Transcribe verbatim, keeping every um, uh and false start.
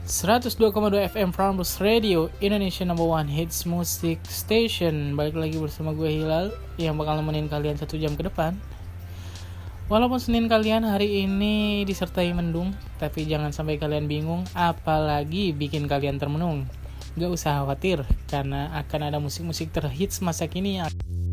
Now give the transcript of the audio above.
seratus dua koma dua F M Prambors Radio, Indonesia number one hits music station. Balik lagi bersama gue Hilal yang bakal nemenin kalian satu jam ke depan. Walaupun Senin kalian hari ini disertai mendung, tapi jangan sampai kalian bingung, apalagi bikin kalian termenung. Gak usah khawatir, karena akan ada musik-musik terhits masa kini yang